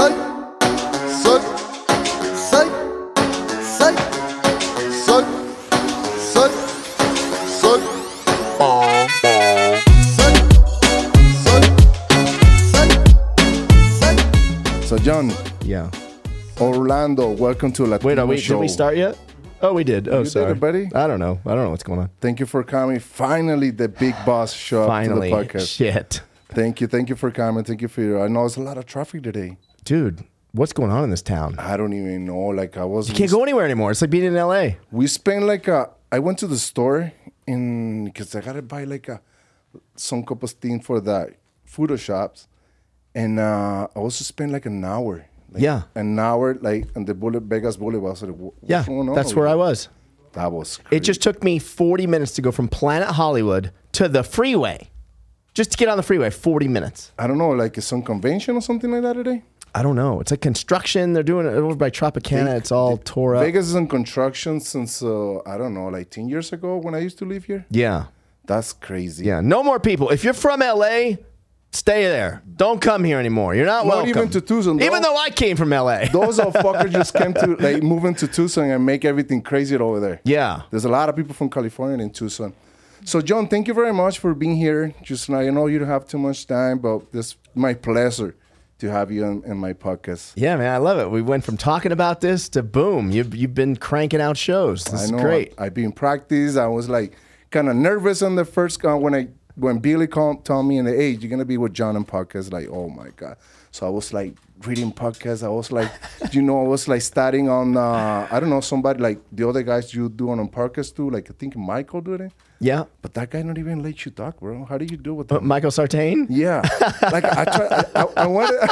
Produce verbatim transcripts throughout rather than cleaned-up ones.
Psych, psych, psych, psych, psych, psych, psych. Psych, psych, psych, psych. So John, Yeah. Orlando, welcome to Latino Wait, are we, Show. did we start yet? Oh, we did. Oh, You did sorry. it, buddy? I don't know. I don't know what's going on. Thank you for coming. Finally, the big boss show Finally. up to the podcast. Shit. Thank you. Thank you for coming. Thank you for your... I know there's a lot of traffic today. Dude, what's going on in this town? I don't even know. Like, I was... You can't go anywhere anymore. It's like being in L A. We spent like a... I went to the store in... Because I got to buy like a... Some couple of things for the Photoshops. And uh, I also spent like an hour. Like, Yeah. An hour, like, on the Boulevard, Vegas Boulevard. I was like, what's Yeah, going on that's over where I here? was. That was crazy. It just took me forty minutes to go from Planet Hollywood to the freeway. Just to get on the freeway, forty minutes. I don't know, like some convention or something like that today? I don't know. It's like construction. They're doing it over by Tropicana. It's all tore up. Vegas is in construction since, uh, I don't know, like ten years ago when I used to live here. Yeah. That's crazy. Yeah. No more people. If you're from L A, stay there. Don't come here anymore. You're not, Not welcome. even to Tucson. Even Those- though I came from L A. Those old fuckers just came to, like, move into Tucson and make everything crazy over there. Yeah. There's a lot of people from California in Tucson. So, John, thank you very much for being here. Just now, I know you don't have too much time, but it's my pleasure to have you in, in my podcast. Yeah, man, I love it. We went from talking about this to boom. You've you've been cranking out shows. This I is know. great. I, I've been practice. I was like kind of nervous on the first uh, when I when Billy called, told me in the age you're gonna be with John and podcast. Like, oh my god. So I was like reading podcasts. I was like, you know, I was like starting on uh, I don't know somebody like the other guys you do on on podcast too. Like I think Michael did it. Yeah. But that guy not even let you talk, bro. How do you do with But that? Michael Sartain? Yeah, like I try. I, I, I wanted.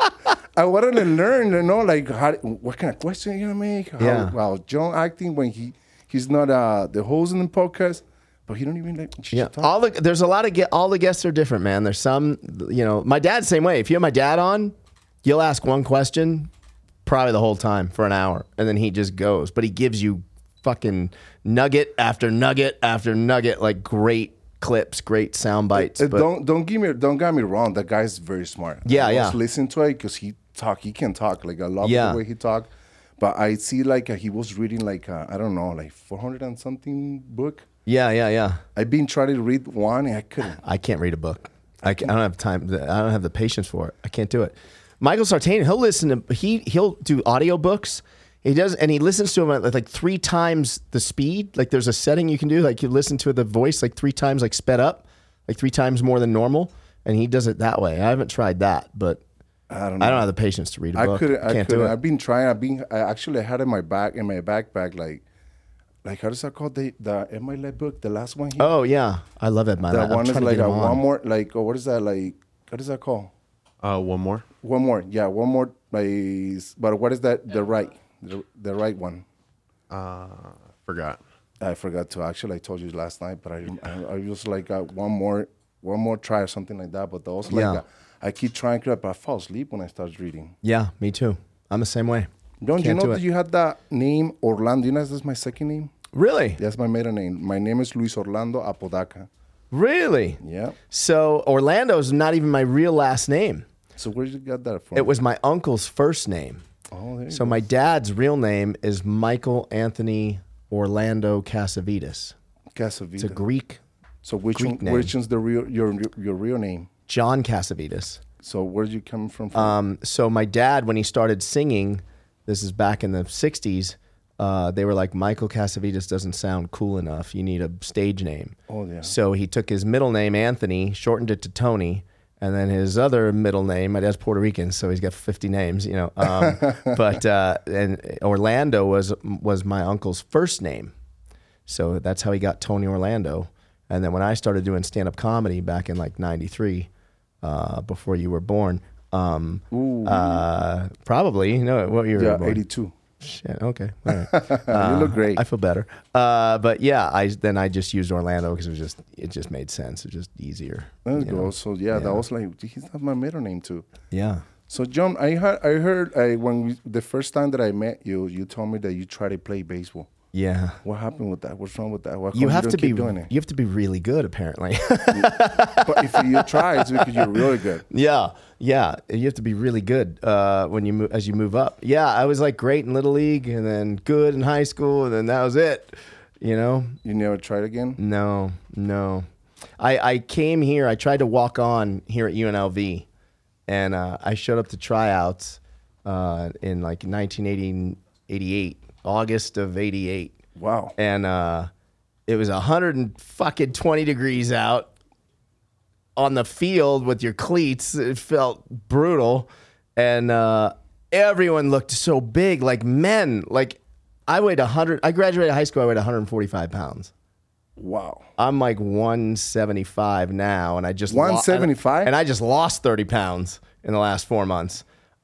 I wanted to learn, you know, like how, what kind of question you gonna make. How, Yeah. Well, John acting when he he's not uh, the host in the podcast, but he don't even like Yeah. talk. All the there's a lot of get all the guests are different, man. There's some, you know, my dad's the same way. If you have my dad on, you'll ask one question probably the whole time for an hour, and then he just goes. But he gives you fucking nugget after nugget after nugget, like great clips, great sound bites. Uh, but don't don't give me don't get me wrong. That guy's very smart. Yeah, I yeah. was listening to it because he talk. He can talk. Like I love Yeah. the way he talk. But I see like uh, he was reading like uh, I don't know like four hundred and something book. yeah, yeah, yeah. I've been trying to read one and I couldn't. I can't read a book. I, ca- I don't have time. I don't have the patience for it. I can't do it. Michael Sartain, he'll listen to he he'll do audiobooks. He does, and he listens to them at like three times the speed. Like there's a setting you can do, like you listen to the voice like three times, like sped up, like three times more than normal. And he does it that way. I haven't tried that, but I don't know. I don't have the patience to read a I book. couldn't. I Can't couldn't. do it. I've been trying. I've been. I actually had in my back in my backpack like, like how does that called the the M I L book? The last one. Here? Oh yeah, I love it, man. that I'm one is trying to like get a him one on. more. Like oh, what is that like? What is that called? Uh, one more. One more. Yeah, one more. Like, but what is that? The right. The, the right one. Uh, forgot. I forgot to actually. I told you last night, but I I, I was like uh, one more one more try or something like that. But those like Yeah. uh, I keep trying to, but I fall asleep when I start reading. Yeah, me too. I'm the same way. Don't you Can't know do that it. you had that name Orlando? You know that's my second name. Really, That's my maiden name. My name is Luis Orlando Apodaca. really. Yeah. So Orlando is not even my real last name. So where did you get that from? It was my uncle's first name. Oh, there you So go. my dad's real name is Michael Anthony Orlando Casavides. Casavita. It's a Greek so which Greek one, name. which one's the real your your real name? John Casavides. So where did you come from? from? Um, so my dad, when he started singing, this is back in the sixties, uh, they were like, Michael Casavides doesn't sound cool enough. You need a stage name. Oh, yeah. So he took his middle name, Anthony, shortened it to Tony, and then his other middle name, my dad's Puerto Rican, so he's got fifty names, you know. Um, but uh, and Orlando was was my uncle's first name. So that's how he got Tony Orlando. And then when I started doing stand-up comedy back in like ninety-three, uh, before you were born, um, uh, probably, you know, what year were you yeah, born? eighty-two. Shit, okay. All right. you look great. I feel better. Uh, but yeah, I then I just used Orlando because it was just it just made sense. It was just easier. There you you go. know? So yeah, that Yeah. was like he's not my middle name too. Yeah. So John, I heard I heard I, when we, the first time that I met you, you told me that you try to play baseball. Yeah. What happened with that? What's wrong with that? Why You come have don't to be keep doing it? you have to be really good apparently. But if you try, it's because you're really good. Yeah, yeah. You have to be really good uh, when you move, as you move up. Yeah, I was like great in little league, and then good in high school, and then that was it. You know? You never tried again? No, no. I I came here. I tried to walk on here at U N L V, and uh, I showed up to tryouts uh, in like nineteen eighty-eight, August of eighty-eight, Wow. and uh, it was a hundred and fucking twenty degrees out on the field with your cleats. It felt brutal, and uh, everyone looked so big, like men. Like I weighed a hundred. I graduated high school. I weighed one hundred forty-five pounds. Wow. I'm like one seventy-five now, and I just one seventy-five? lo- and I just lost thirty pounds in the last four months.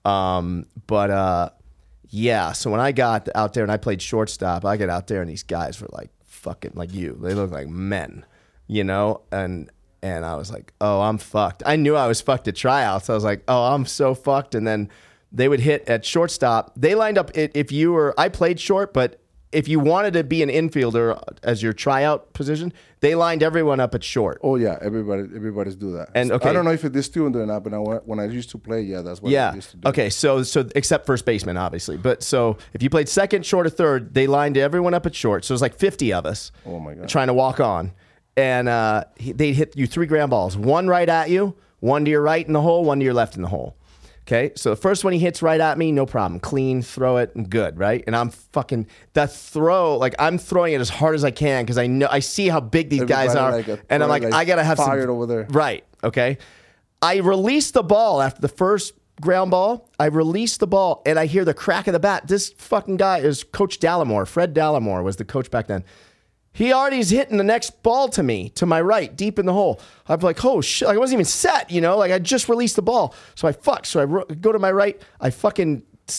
Um, but uh, yeah, so when I got out there and I played shortstop, I get out there and these guys were like fucking like you. They look like men, you know, and and I was like, oh, I'm fucked. I knew I was fucked at tryouts. I was like, oh, I'm so fucked. And then they would hit at shortstop. They lined up if you were. I played short, but if you wanted to be an infielder as your tryout position, they lined everyone up at short. Oh yeah, everybody, everybody's do that. And, okay. I don't know if it is still doing that, but I, when I used to play, yeah, that's what I Yeah. used to do. Okay. So, so except first baseman, obviously. But so if you played second, short, or third, they lined everyone up at short. So it was like fifty of us. Oh my God. Trying to walk on, and uh, they hit you three ground balls, one right at you, one to your right in the hole, one to your left in the hole. Okay, so the first one he hits right at me, no problem. Clean, throw it, and good, right? And I'm fucking, that throw, like I'm throwing it as hard as I can because I know, I see how big these Everybody guys are. like a- and I'm like, like I gotta have fired some. over there. Right, okay. I release the ball after the first ground ball. I release the ball and I hear the crack of the bat. This fucking guy is Coach Dallimore. Fred Dallimore was the coach back then. He already is hitting the next ball to me, to my right, deep in the hole. I'm like, oh shit, like I wasn't even set, you know? Like I just released the ball. So I fuck. So I ro- go to my right. I fucking s-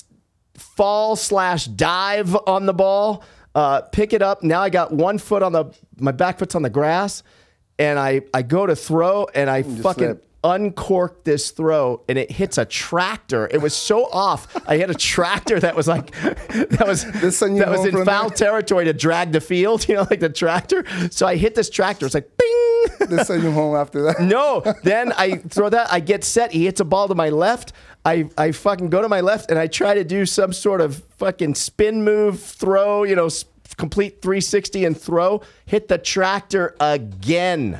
fall slash dive on the ball, uh, pick it up. Now I got one foot on the, my back foot's on the grass. And I, I go to throw and I just fucking slip. uncorked this throw and it hits a tractor. It was so off. I had a tractor that was like, that was, This send you that was home in from foul there? territory to drag the field, you know, like the tractor. So I hit this tractor. It's like, bing. They send you home after that. No. Then I throw that. I get set. He hits a ball to my left. I, I fucking go to my left and I try to do some sort of fucking spin move, throw, you know, s- complete three sixty and throw. Hit the tractor again.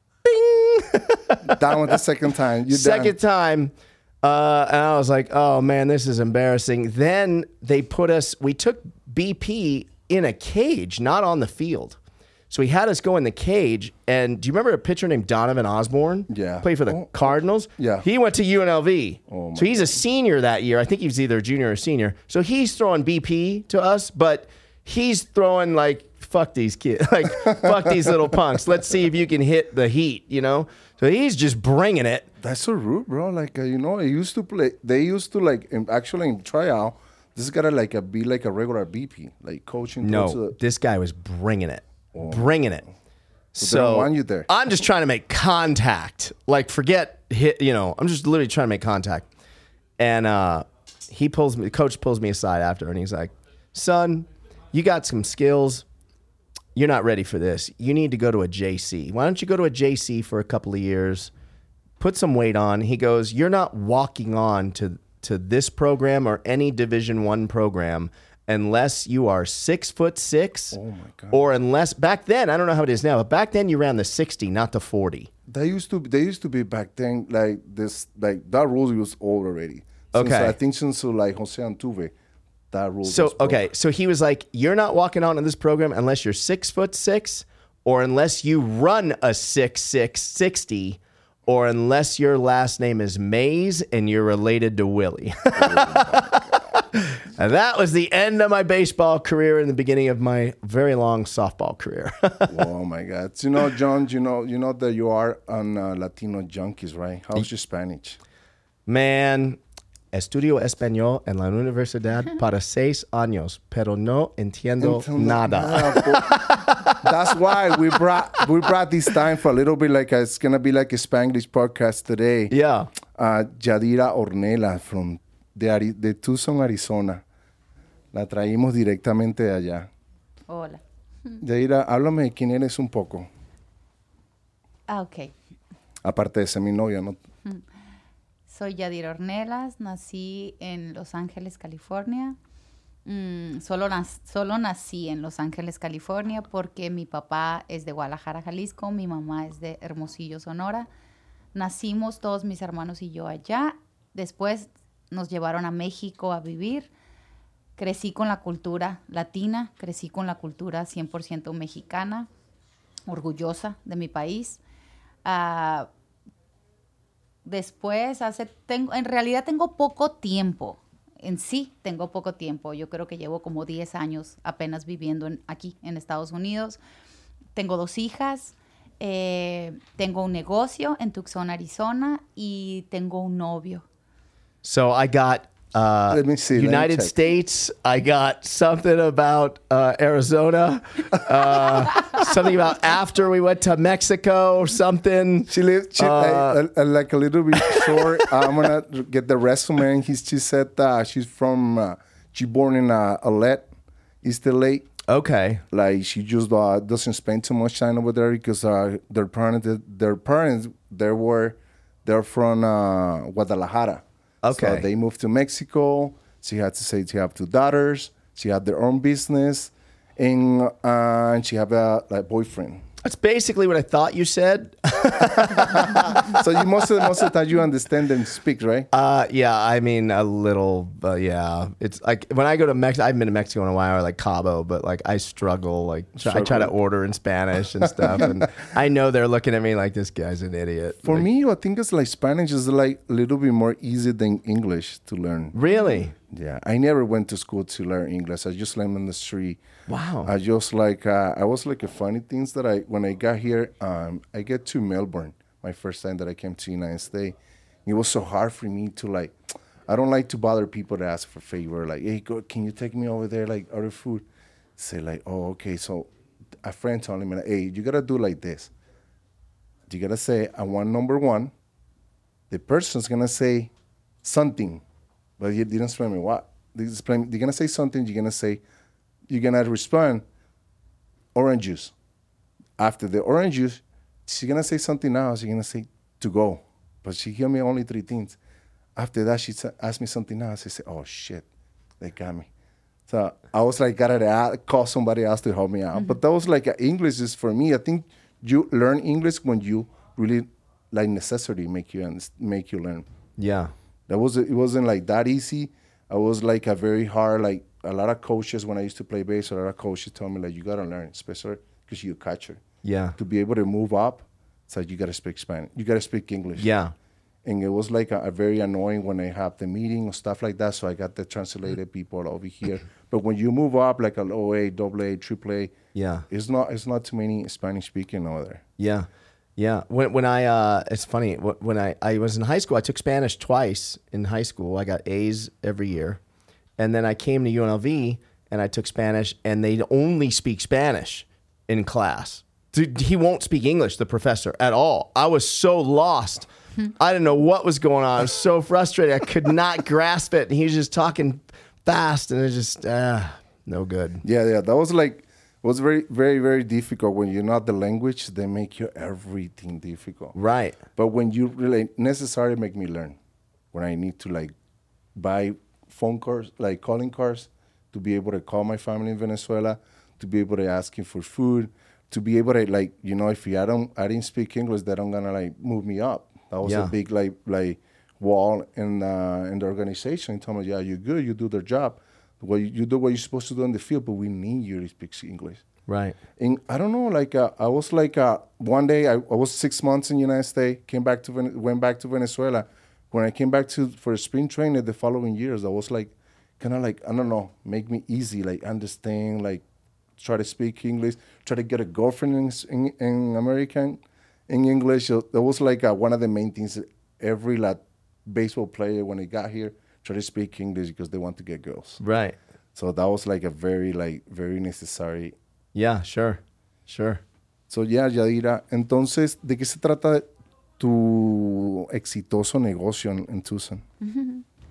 Bing. Down with the second time. You Second time. Uh, and I was like, oh man, this is embarrassing. Then they put us, we took B P in a cage, not on the field. So he had us go in the cage. And do you remember a pitcher named Donovan Osborne? Yeah. Played for the Oh. Cardinals? Yeah. He went to U N L V. Oh, my so he's a senior that year. I think he was either a junior or senior. So he's throwing B P to us, but he's throwing like, fuck these kids. Like, fuck these little punks. Let's see if you can hit the heat, you know? So he's just bringing it. That's so rude, bro. Like uh, you know, I used to play. They used to like in, actually in tryout. This gotta like a, be like a regular B P, like coaching. towards No, the- this guy was bringing it, bringing it. So, they don't want you there. I'm just trying to make contact. Like, forget hit. You know, I'm just literally trying to make contact. And uh, he pulls me. The coach pulls me aside after, and he's like, "Son, you got some skills. You're not ready for this. You need to go to a J C. Why don't you go to a J C for a couple of years, put some weight on?" He goes, "You're not walking on to to this program or any Division One program unless you are six foot six, Oh my God. or unless back then I don't know how it is now, but back then you ran the sixty, not the forty." They used to. They used to be back then like this. Like that rule was old already. Since, Okay. I think since uh, like Jose Antuve, that rule. So was broke. okay, so he was like, "You're not walking on in this program unless you're six foot six, or unless you run a six six sixty, or unless your last name is Mays and you're related to Willie." And that was the end of my baseball career and the beginning of my very long softball career. Oh my God! You know, John. You know, you know that you are on uh, Latino Junkies, right? How's your Spanish? Man, estudio español en la universidad para seis años, pero no entiendo Until nada. nada, but that's why we brought we brought this time for a little bit like a, it's gonna be like a Spanglish podcast today. Yeah. Uh, Yadira Ornella from de, Ari- de Tucson, Arizona. La traímos directamente de allá. Hola. Yadira, háblame de quién eres un poco. Ah, ok. Aparte de ser mi novia, ¿no? Soy Yadira Ornelas, nací en Los Ángeles, California. Mm, solo, nac- solo nací en Los Ángeles, California, porque mi papá es de Guadalajara, Jalisco, mi mamá es de Hermosillo, Sonora. Nacimos todos mis hermanos y yo allá. Después nos llevaron a México a vivir. Crecí con la cultura latina, crecí con la cultura cien por ciento mexicana, orgullosa de mi país. Ah, después, hace, tengo, en realidad tengo poco tiempo. En sí, tengo poco tiempo. Yo creo que llevo como diez años apenas viviendo en- aquí en Estados Unidos. Tengo dos hijas, eh, tengo un negocio en Tucson, Arizona, y tengo un novio. So I got uh, Let me see, let me United check. States. I got something about uh, Arizona. Uh, something about after we went to Mexico or something. She lived she, Uh, like, uh, like a little bit short. I'm gonna get the resume. And he, she said uh, she's from. Uh, she born in uh, Alet, East L A. Okay. Like she just uh, doesn't spend too much time over there because uh, their parents, their parents, they were, they're from uh, Guadalajara. Okay. So they moved to Mexico. She had to say she have two daughters. She had their own business, and uh, and she have a like boyfriend. That's basically what I thought you said. So you most of most of the time you understand them speak, right? Uh, yeah, I mean a little, but yeah, it's like when I go to Mexico. I haven't been to Mexico in a while, or like Cabo, but like I struggle. Like try, I try to order in Spanish and stuff, and I know they're looking at me like this guy's an idiot. For Like, me, I think it's like Spanish is like a little bit more easy than English to learn. really? Yeah, I never went to school to learn English. I just learned on the street. Wow. I just like uh, I was like a funny things that I when I got here. Um, I get to Melbourne my first time that I came to the United States. It was so hard for me to like. I don't like to bother people to ask for favor. Like, hey, go, can you take me over there? Like, order food. Say like, oh, okay. So a friend told me, hey, you gotta do like this. You gotta say, I want number one. The person's gonna say something, but he didn't explain me what. They explain, they're gonna say something. You're gonna say, you're gonna respond, orange juice. After the orange juice, she's gonna say something else. She's gonna say to go, but she gave me only three things. After that, she sa- asked me something else. I said, oh shit, they got me. So I was like, gotta a- call somebody else to help me out. But that was like uh, English is for me. I think you learn English when you really like necessity make you underst- make you learn. Yeah. That was it wasn't like that easy. I was like a very hard like a lot of coaches when I used to play bass. A lot of coaches told me like you gotta learn, especially because you're a catcher. Yeah. To be able to move up, it's like you gotta speak Spanish. You gotta speak English. Yeah. And it was like a, a very annoying when I have the meeting or stuff like that. So I got the translated people over here. But when you move up like a O A, double A, triple A, Yeah. it's not it's not too many Spanish speaking over there. Yeah. Yeah. When when I uh it's funny, wh- when I, I was in high school, I took Spanish twice in high school. I got A's every year. And then I came to U N L V and I took Spanish and they only speak Spanish in class. Dude, he won't speak English, the professor, at all. I was so lost. I didn't know what was going on. I was so frustrated. I could not grasp it. And he was just talking fast and it was just uh no good. Yeah, yeah. That was like was very, very, very difficult. When you're not the language, they make you everything difficult. Right. But when you really necessarily make me learn, when I need to like buy phone calls, like calling cards, to be able to call my family in Venezuela, to be able to ask him for food, to be able to like, you know, if I don't, I didn't speak English, they don't gonna like move me up. That was Yeah. a big like like wall in uh, in the organization. He told me, yeah, you're good, you do their job. What you, you do what you're supposed to do in the field, but we need you to speak English. Right. And I don't know, like uh, I was like uh, one day I, I was six months in the United States, came back to Ven- went back to Venezuela. When I came back to for spring training the following years, I was like, kind of like I don't know, make me easy, like understand, like try to speak English, try to get a girlfriend in in, in American in English. So that was like uh, one of the main things. That every like baseball player when they got here try to speak English because they want to get girls. Right. So that was like a very like very necessary. Yeah, sure. Sure. So yeah, Yadira, entonces, ¿de qué se trata tu exitoso negocio en, en Tucson?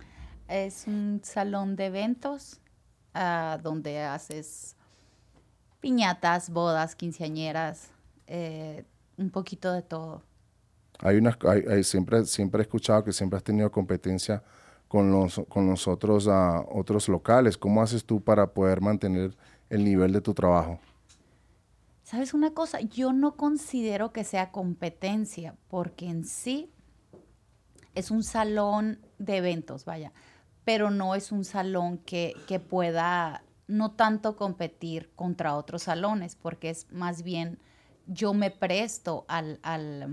Es un salón de eventos ah, donde haces piñatas, bodas, quinceañeras, eh, un poquito de todo. Hay unas, hay, hay- siempre, siempre he escuchado que siempre has tenido competencia con los, con los otros, ah, otros locales. ¿Cómo haces tú para poder mantener el nivel de tu trabajo? ¿Sabes una cosa? Yo no considero que sea competencia, porque en sí es un salón de eventos, vaya, pero no es un salón que, que pueda no tanto competir contra otros salones, porque es más bien yo me presto al, al,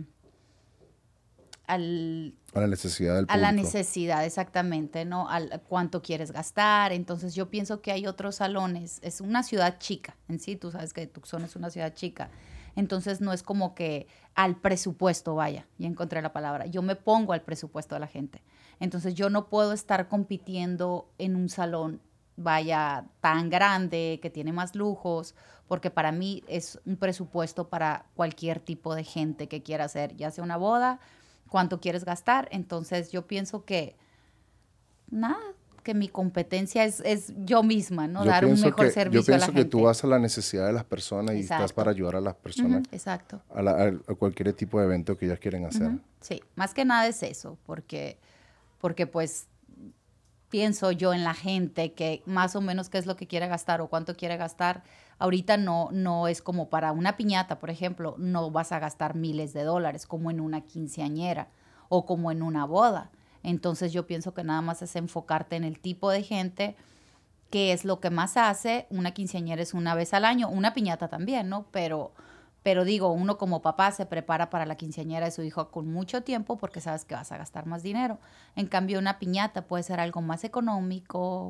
al A la necesidad del a público. la necesidad, exactamente, ¿no? Al cuánto quieres gastar. Entonces yo pienso que hay otros salones. Es una ciudad chica en sí. Tú sabes que Tucson es una ciudad chica. Entonces no es como que al presupuesto, vaya, ya encontré la palabra. Yo me pongo al presupuesto de la gente. Entonces yo no puedo estar compitiendo en un salón, vaya, tan grande, que tiene más lujos, porque para mí es un presupuesto para cualquier tipo de gente que quiera hacer, ya sea una boda, cuánto quieres gastar. Entonces yo pienso que nada, que mi competencia es, es yo misma, ¿no? Yo Dar un pienso mejor que- servicio Yo a la pienso que gente. tú vas a la necesidad de las personas y estás Exacto. para ayudar a las personas Ujú, exacto. a, la- a- a cualquier tipo de evento que ellas quieren hacer. Ujú, sí, más que nada es eso, porque, porque pues pienso yo en la gente que más o menos qué es lo que quiere gastar o cuánto quiere gastar. Ahorita no, no es como para una piñata, por ejemplo, no vas a gastar miles de dólares como en una quinceañera o como en una boda. Entonces yo pienso que nada más es enfocarte en el tipo de gente, que es lo que más hace. Una quinceañera es una vez al año, una piñata también, ¿no? Pero, pero digo, uno como papá se prepara para la quinceañera de su hijo con mucho tiempo porque sabes que vas a gastar más dinero. En cambio, una piñata puede ser algo más económico.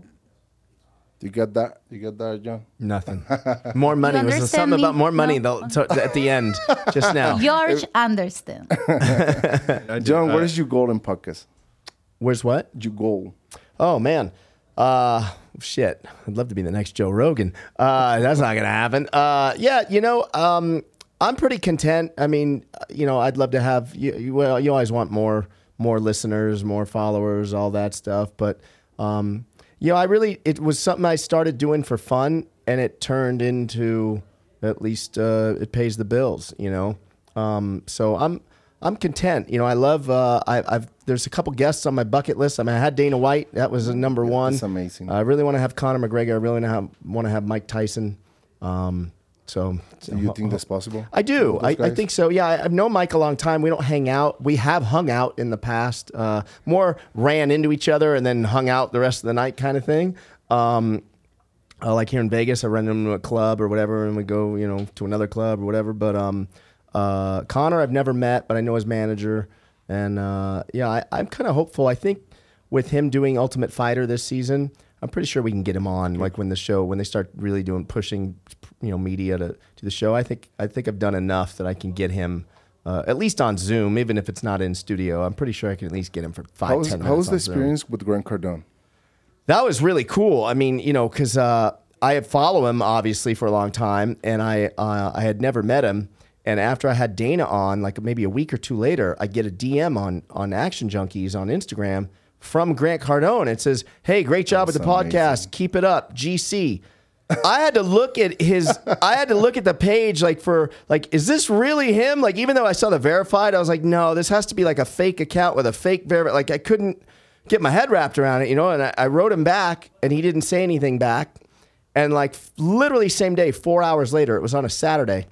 You get that? You get that, John? Nothing. More money. Was there understand something me? about more money No. though, to, at the end just now? George understand. I did, John, uh, what is your goal in podcast? Where's what? Your goal. Oh man, uh, shit. I'd love to be the next Joe Rogan. Uh, that's not gonna happen. Uh, yeah, you know, um, I'm pretty content. I mean, you know, I'd love to have you. you well, you always want more, more listeners, more followers, all that stuff. But um, you know, I really it was something I started doing for fun, and it turned into at least uh, it pays the bills. You know, um, so I'm. I'm content. You know, I love, uh, I, I've, there's a couple guests on my bucket list. I mean, I had Dana White. That was a number one. That's amazing. I really want to have Conor McGregor. I really want to have, want to have Mike Tyson. Um, so, Do you think that's possible? I do. With I, those I guys? think so. Yeah, I, I've known Mike a long time. We don't hang out. We have hung out in the past. Uh, more ran into each other and then hung out the rest of the night kind of thing. Um, uh, like here in Vegas, I run into a club or whatever, and we go, you know, to another club or whatever. But um, uh, Connor, I've never met, but I know his manager, and uh, yeah, I, I'm kind of hopeful. I think with him doing Ultimate Fighter this season, I'm pretty sure we can get him on. Like when the show, when they start really doing pushing, you know, media to, to the show, I think I think I've done enough that I can get him. Uh, at least on Zoom, even if it's not in studio, I'm pretty sure I can at least get him for five, How was, ten minutes. how was the on Zoom. experience with Grant Cardone? That was really cool. I mean, you know, because uh, I had followed him obviously for a long time, and I uh, I had never met him. And after I had Dana on, like maybe a week or two later, I get a D M on on Action Junkies on Instagram from Grant Cardone. It says, "Hey, great job That's with the podcast. amazing. Keep it up, G C." I had to look at his. I had to look at the page like for like, is this really him? Like, even though I saw the verified, I was like, no, this has to be like a fake account with a fake verify. Like, I couldn't get my head wrapped around it, you know. And I, I wrote him back, and he didn't say anything back. And like, literally same day, four hours later, it was on a Saturday.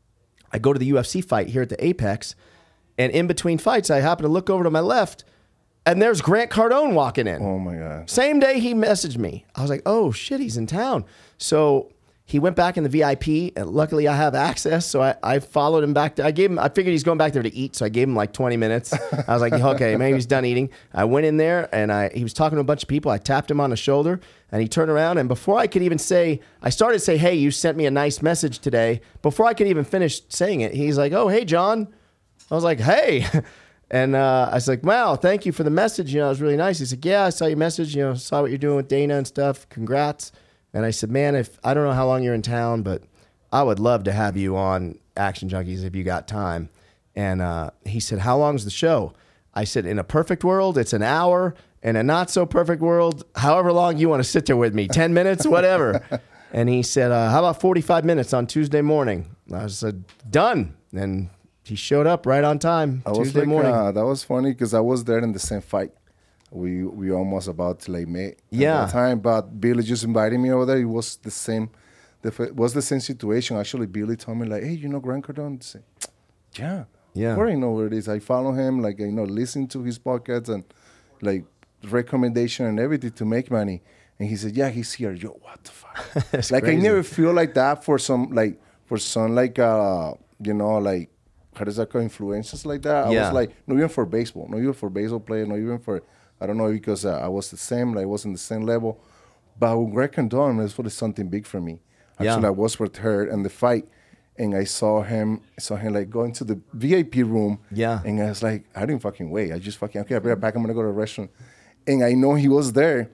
I go to the U F C fight here at the Apex, and in between fights, I happen to look over to my left, and there's Grant Cardone walking in. Oh my God. Same day he messaged me. I was like, oh shit, he's in town. So he went back in the V I P, and luckily I have access. So I, I followed him back. To, I gave him, I figured he's going back there to eat. So I gave him like twenty minutes. I was like, okay, maybe he's done eating. I went in there, and I he was talking to a bunch of people. I tapped him on the shoulder, and he turned around. And before I could even say, I started to say, hey, you sent me a nice message today. Before I could even finish saying it, he's like, oh, hey, John. I was like, hey. And uh, I was like, wow, thank you for the message. You know, it was really nice. He said, yeah, I saw your message. You know, saw what you're doing with Dana and stuff. Congrats. And I said, man, if I don't know how long you're in town, but I would love to have you on Action Junkies if you got time. And uh, he said, how long's the show? I said, in a perfect world, it's an hour. In a not so perfect world, however long you want to sit there with me, ten minutes, whatever. And he said, uh, how about forty-five minutes on Tuesday morning? I said, done. And he showed up right on time I was Tuesday like, morning. Uh, that was funny because I was there in the same fight. We we almost about to like meet Yeah. at that time, but Billy just invited me over there. It was the same, the f- was the same situation. Actually, Billy told me like, hey, you know Grant Cardone? I said, yeah, Yeah. I already know where it is. I follow him, like you know, listen to his podcasts and like recommendation and everything to make money. And he said, yeah, he's here. Yo, what the fuck? That's like crazy. I never feel like that for some like for some like uh you know like how does that call influences like that? I Yeah. was like, not even for baseball, not even for baseball player, not even for I don't know because uh, I was the same, like I was in the same level. But with Greg Cardone, it was something big for me. Actually, Yeah. I was with her in the fight, and I saw him, saw him like go into the V I P room. Yeah. And I was like, I didn't fucking wait. I just fucking okay, I'll be right back. I'm gonna go to a restaurant, and I know he was there.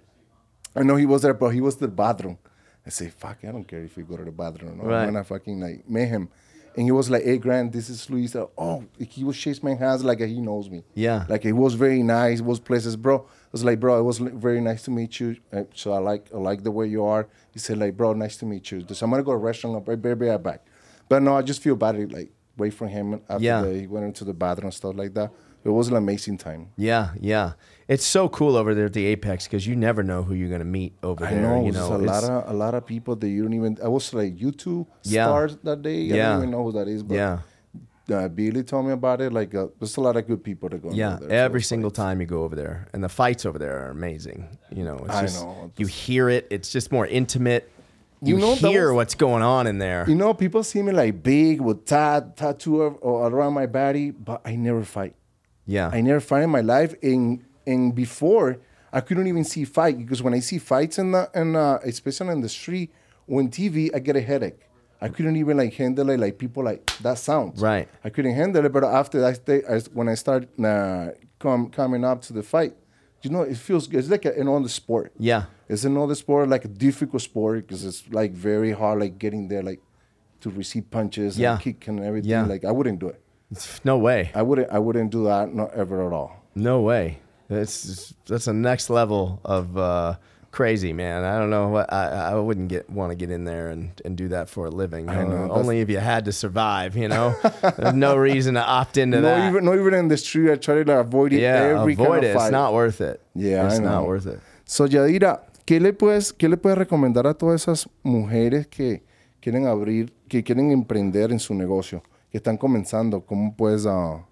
I know he was there, but he was in the bathroom. I say, fuck, I don't care if we go to the bathroom or not. Right. I'm gonna fucking like meet him. And he was like, hey, Grant, this is Luis. Oh, he was shaking my hands like he knows me. Yeah. Like, it was very nice. It was places, bro. I was like, bro, it was li- very nice to meet you. Uh, so I like I like the way you are. He said, like, bro, nice to meet you. So I'm going to go to a restaurant. I'll be be right back. But no, I just feel bad, like, wait for him after Yeah. the, he went into the bathroom and stuff like that. It was an amazing time. Yeah, yeah. It's so cool over there at the Apex because you never know who you're going to meet over I there. know, you it's know, a It's- lot of a lot of people that you don't even. I was like YouTube Yeah. stars that day. I Yeah. don't even know who that is. But Yeah. uh, Billy told me about it. Like, uh, there's a lot of good people that go. Yeah, over there. every So single it's like- time you go over there, and the fights over there are amazing. You know, it's I just, know. you hear it. It's just more intimate. You, You know, that hear was- what's going on in there. You know, people see me like big with tat tattoo of- or around my body, but I never fight. Yeah, I never fight in my life. And and before I couldn't even see fight because when I see fights in the and uh, especially in the street or on T V, I get a headache. I couldn't even like handle it like people like that sounds. Right. I couldn't handle it. But after that, day, I, when I start uh, come coming up to the fight, you know, it feels good. It's like a, another sport. yeah, It's another sport, like a difficult sport because it's like very hard, like getting there, like to receive punches Yeah. and kick and everything. Yeah. Like I wouldn't do it. no way, I wouldn't. I wouldn't do that. Not ever at all. no way. That's that's a next level of uh, crazy, man. I don't know what I, I wouldn't get want to get in there and, and do that for a living. I Uh, know, that's- only if you had to survive. You know, there's no reason to opt into No, that. even not even in the street. I try to like, avoid it. yeah, every avoid kind it. of It's fight. not worth it. Yeah, it's I know. not worth it. So Yadira, ¿qué le puedes, qué le puedes recomendar a todas esas mujeres que quieren abrir, que quieren emprender en su negocio, que están comenzando? ¿Cómo puedes, ah,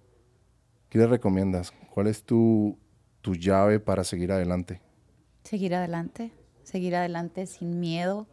qué le recomiendas? ¿Cuál es tu tu llave para seguir adelante? Seguir adelante, seguir adelante sin miedo,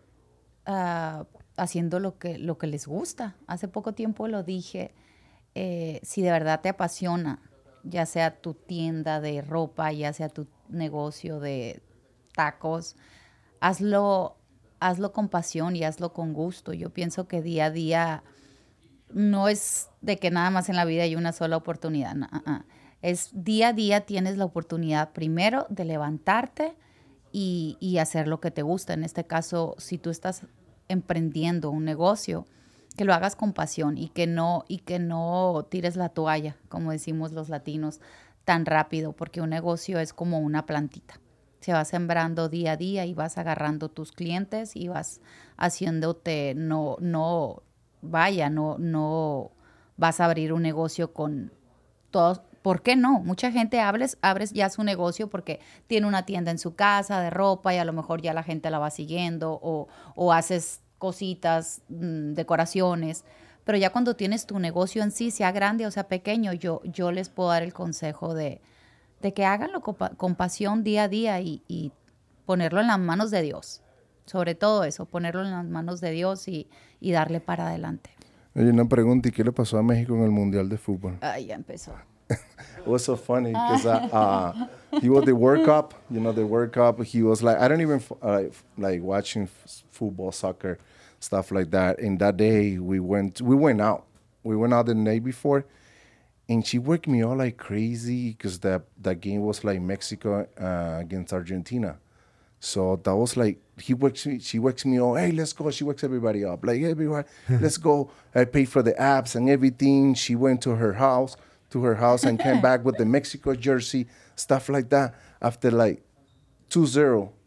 ah, haciendo lo que, lo que les gusta. Hace poco tiempo lo dije, eh, si de verdad te apasiona, ya sea tu tienda de ropa, ya sea tu negocio de tacos, hazlo, hazlo con pasión y hazlo con gusto. Yo pienso que día a día no es de que nada más en la vida hay una sola oportunidad. No, uh, uh. Es día a día tienes la oportunidad primero de levantarte y, y hacer lo que te gusta. En este caso, si tú estás emprendiendo un negocio, que lo hagas con pasión y que no, y que no tires la toalla, como decimos los latinos, tan rápido, porque un negocio es como una plantita. Se va sembrando día a día y vas agarrando tus clientes y vas haciéndote, no, no, vaya, no, no vas a abrir un negocio con todos. ¿Por qué no? Mucha gente abres, abres ya su negocio porque tiene una tienda en su casa de ropa y a lo mejor ya la gente la va siguiendo o, o haces cositas, mmm, decoraciones. Pero ya cuando tienes tu negocio en sí, sea grande o sea pequeño, yo, yo les puedo dar el consejo de, de que háganlo con, con pasión día a día y, y ponerlo en las manos de Dios. Sobre todo eso, ponerlo en las manos de Dios y, y darle para adelante. Oye, una pregunta, ¿y qué le pasó a México en el Mundial de Fútbol? Ay, ya empezó. It was so funny because uh, uh, he was the World Cup, you know, the World Cup. He was like, I don't even f- uh, like watching f- football, soccer, stuff like that. And that day we went, we went out. We went out the night before, and she worked me all like crazy because that that game was like Mexico uh, against Argentina. So that was like, he wakes me, she wakes me up, hey, let's go. She wakes everybody up, like, everyone, let's go. I paid for the apps and everything. She went to her house, to her house and came back with the Mexico jersey, stuff like that. After like two zero,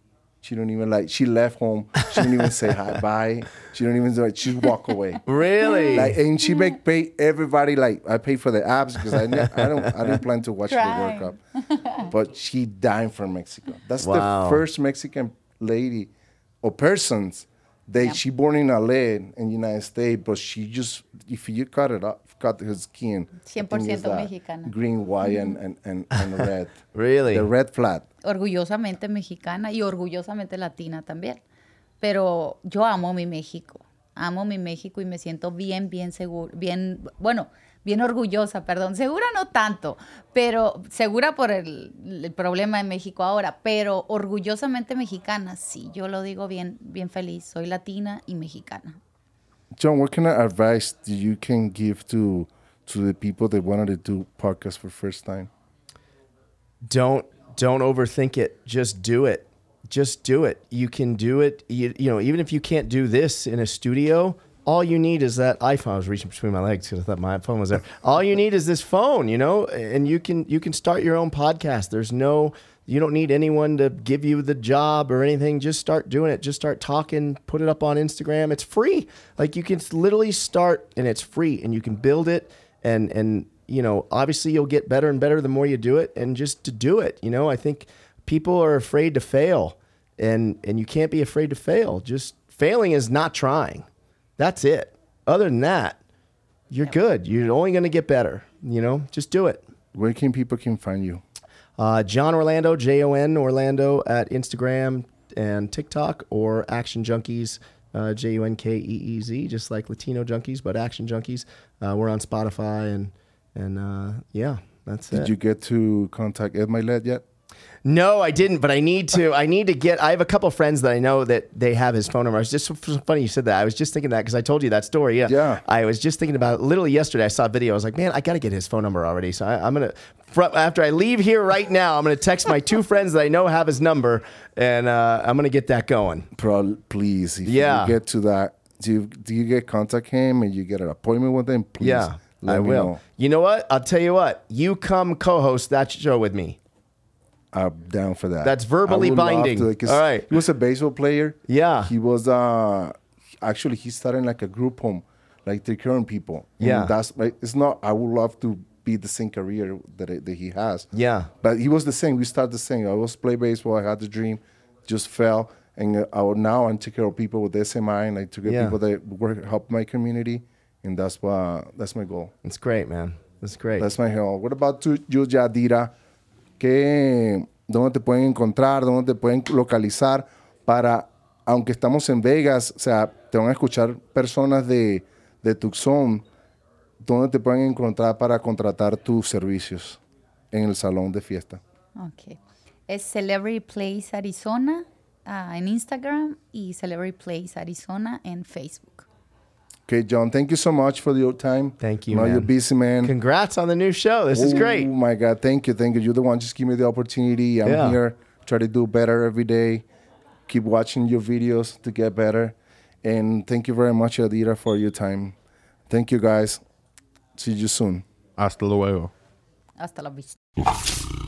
She don't even like. She left home. She didn't even say hi, bye. She don't even like. She walk away. Really? Like, and she make pay everybody. Like, I pay for the abs because I, ne- I don't I didn't plan to watch Crime. the World Cup. But she died from Mexico. That's Wow. the first Mexican lady or persons that Yeah. she born in L A in United States, but she just if you cut it up, cut her skin. cien I por think it's ciento that mexicana. Green, white, and, and, and, and red. Really? The red flat. Orgullosamente mexicana y orgullosamente latina también. Pero yo amo mi México. Amo mi México y me siento bien, bien segura, bien, bueno, bien orgullosa, perdón. Segura no tanto, pero segura por el, el problema de México ahora, pero orgullosamente mexicana, sí, yo lo digo bien, bien feliz. Soy latina y mexicana. John, what kind of advice do you can give to to the people that wanted to do podcasts for first time? Don't don't overthink it. Just do it. Just do it. You can do it. You, you know, even if you can't do this in a studio, all you need is that iPhone. I was reaching between my legs because I thought my phone was there. All you need is this phone, you know, and you can you can start your own podcast. There's no, you don't need anyone to give you the job or anything. Just start doing it. Just start talking. Put it up on Instagram. It's free. Like you can literally start, and it's free, and you can build it. And and you know, obviously you'll get better and better the more you do it. And just to do it, you know, I think people are afraid to fail, and and you can't be afraid to fail. Just failing is not trying. That's it. Other than that, you're good. You're only going to get better. You know, just do it. Where can people can find you? Uh, John Orlando, J O N Orlando at Instagram and TikTok, or Action Junkies, uh, J U N K E E Z, just like Latino Junkies, but Action Junkies. Uh, we're on Spotify, and and uh, yeah, that's Did it. you get to contact Ed Milet yet? No, I didn't, but I need to. I need to get. I have a couple friends that I know that they have his phone number. It's just so funny you said that. I was just thinking that because I told you that story. Yeah, Yeah. I was just thinking about it. Literally yesterday. I saw a video. I was like, man, I got to get his phone number already. So I, I'm gonna fr- after I leave here right now, I'm gonna text my two friends that I know have his number, and uh, I'm gonna get that going. Pro- please, if Yeah. you get to that, do you, do you get contact him and you get an appointment with him? Please, Yeah, let I me will. know. You know what? I'll tell you what. You come co-host that show with me. I'm down for that. That's verbally I would love binding. to, 'cause All right. He was a baseball player. Yeah. He was uh actually he started like a group home, like the current people. And Yeah. that's like it's not. I would love to be the same career that it, that he has. Yeah. But he was the same. We started the same. I was play baseball. I had the dream, just fell, and uh, I would, now I take care of people with S M I, and I take care Yeah. of people that work help my community, and that's what that's my goal. It's great, man. That's great. That's my goal. What about you, you, Yadira? ¿Qué, ¿Dónde te pueden encontrar? ¿Dónde te pueden localizar? Para, aunque estamos en Vegas, o sea, te van a escuchar personas de, de Tucson. ¿Dónde te pueden encontrar para contratar tus servicios en el salón de fiesta? Ok. Es Celebrity Place Arizona uh, en Instagram y Celebrity Place Arizona en Facebook. Okay, John, thank you so much for your time. Thank you, I know man. you're busy, man. Congrats on the new show. This is great. Oh, my God. Thank you. Thank you. You're the one. Just give me the opportunity. I'm Yeah. here. Try to do better every day. Keep watching your videos to get better. And thank you very much, Adira, for your time. Thank you, guys. See you soon. Hasta luego. Hasta la vista.